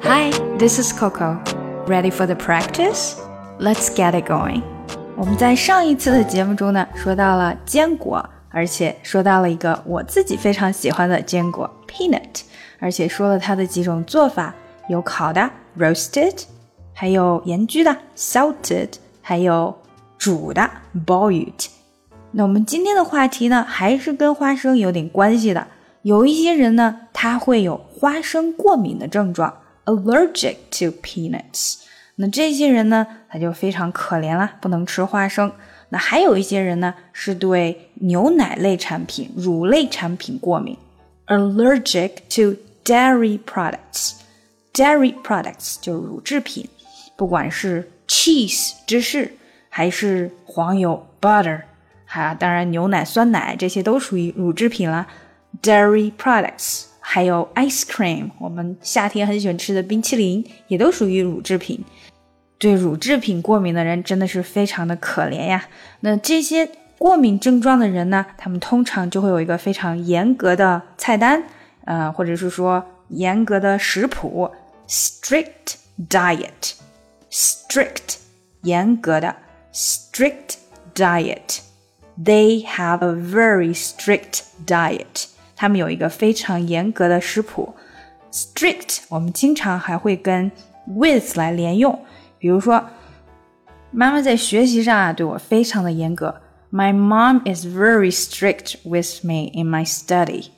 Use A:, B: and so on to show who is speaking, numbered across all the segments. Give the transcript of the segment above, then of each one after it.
A: Hi, this is Coco. Ready for the practice? Let's get it going. 我们在上一次的节目中呢，说到了坚果，而且说到了一个我自己非常喜欢的坚果 peanut， 而且说了它的几种做法，有烤的 roasted， 还有盐焗的 salted， 还有煮的 boiled。 那我们今天的话题呢，还是跟花生有点关系的。有一些人呢，他会有花生过敏的症状 allergic to peanuts。 那这些人呢，他就非常可怜啦，不能吃花生。那还有一些人呢，是对牛奶类产品、乳类产品过敏 allergic to dairy products。 dairy products 就是乳制品，不管是 cheese 芝士，还是黄油 butter， 当然牛奶、酸奶这些都属于乳制品啦。dairy products， 还有 ice cream， 我们夏天很喜欢吃的冰淇淋也都属于乳制品。对乳制品过敏的人真的是非常的可怜呀。那这些过敏症状的人呢，他们通常就会有一个非常严格的菜单，或者是说严格的食谱 strict diet。 strict 严格的 strict diet。 They have a very strict diet。他们有一个非常严格的食谱 strict 我们经常还会跟 with 来连用，比如说妈妈在学习上对我非常的严格 My mom is very strict with me in my study.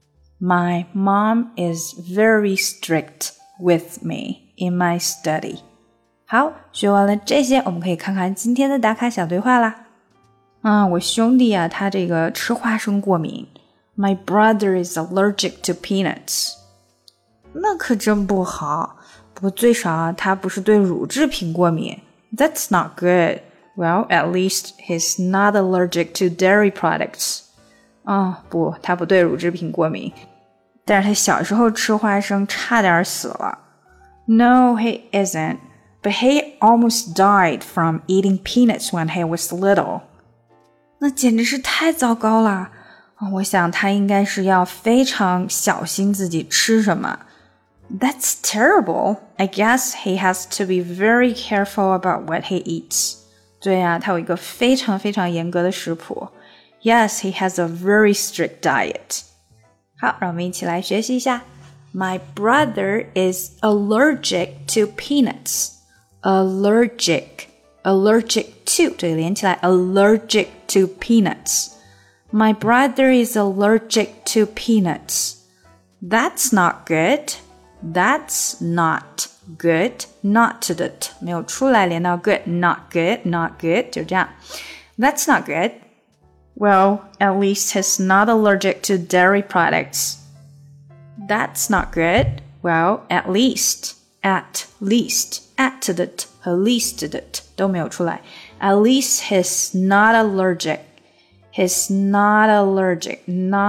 A: My mom is very strict with me in my study. 好，学完了这些，我们可以看看今天的打卡小对话啦。我兄弟他这个吃花生过敏My brother is allergic to peanuts. 那可真不好，不过最少他不是对乳制品过敏。That's not good. Well, at least he's not allergic to dairy products. 不，他不对乳制品过敏，但是他小时候吃花生差点死了。No, he isn't. But he almost died from eating peanuts when he was little. 那简直是太糟糕了。我想他应该是要非常小心自己吃什么。That's terrible. I guess he has to be very careful about what he eats. 对呀，他有一个非常非常严格的食谱。Yes, he has a very strict diet. 好，让我们一起来学习一下。My brother is allergic to peanuts. Allergic to 这里连起来 allergic to peanuts.My brother is allergic to peanuts. That's not good. That's not good. Not 的 t 没有出来连到 good. Not good, not good. 就这样。That's not good. Well, at least he's not allergic to dairy products. That's not good. Well, at least. At least. At 的 t 和 least 的 t 都没有出来。At least he's not allergic.He's not allergic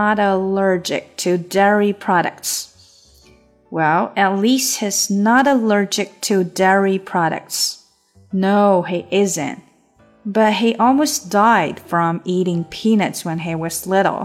A: to dairy products. Well, at least he's not allergic to dairy products. No, he isn't. But he almost died from eating peanuts when he was little.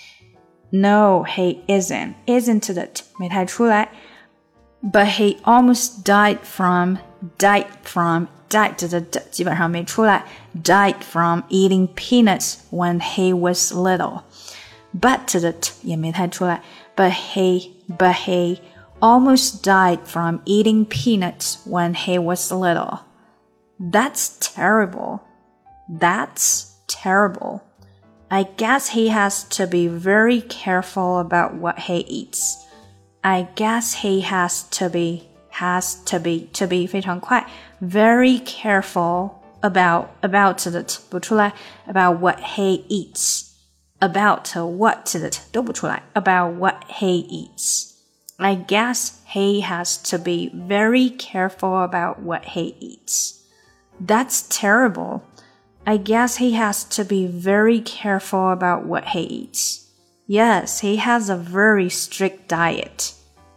A: No, he isn't. Isn't it? 没太出来。But he almost died from died 的基本上没出来 died from eating peanuts when he was little. But 的也没太出来 but he almost died from eating peanuts when he was little. That's terrible. That's terrible. I guess he has to be very careful about what he eats. I guess he has to be 非常快 very careful about 的不出来 about what he eats about what 的都不出来 about what he eats. I guess he has to be very careful about what he eats. That's terrible. I guess he has to be very careful about what he eats. Yes, he has a very strict diet.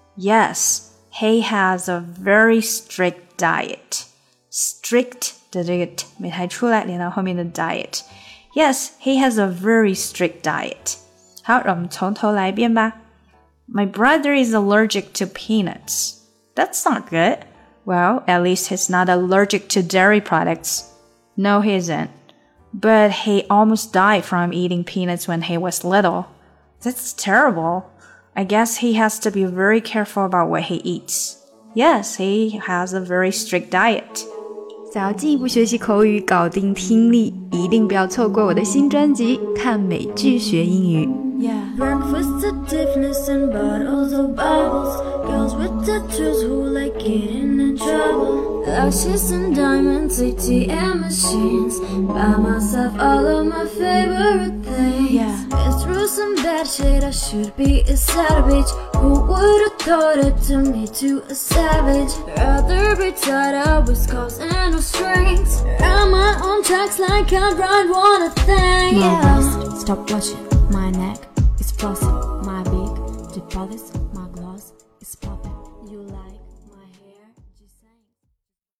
A: Yes.He has a very strict diet. Strict 的这个 t 没太出来，连到后面的 diet. Yes, he has a very strict diet. 好，让我们从头来一遍吧。My brother is allergic to peanuts. That's not good. Well, at least he's not allergic to dairy products. No, he isn't. But he almost died from eating peanuts when he was little. That's terrible. I guess he has to be very careful about what he eats. Yes, he has a very strict diet. 想要进一步学习口语，搞定听力，一定不要错过我的新专辑《看美剧学英语》。
B: Breakfast at Tiffany's and bottles of bubbles. Girls with tattoos who like getting in trouble. Lashes and diamonds, ATM machines. Buy myself all of my favorite things. Been through some bad shit, I should be a savage. Who would've thought it turned me to a savage? Rather be tied up with scars and no strings. Run my own tracks like I ride one a thing.
C: My wrist, stop watching my neck. It's flossing, my big deposits, my gloss is popping. You like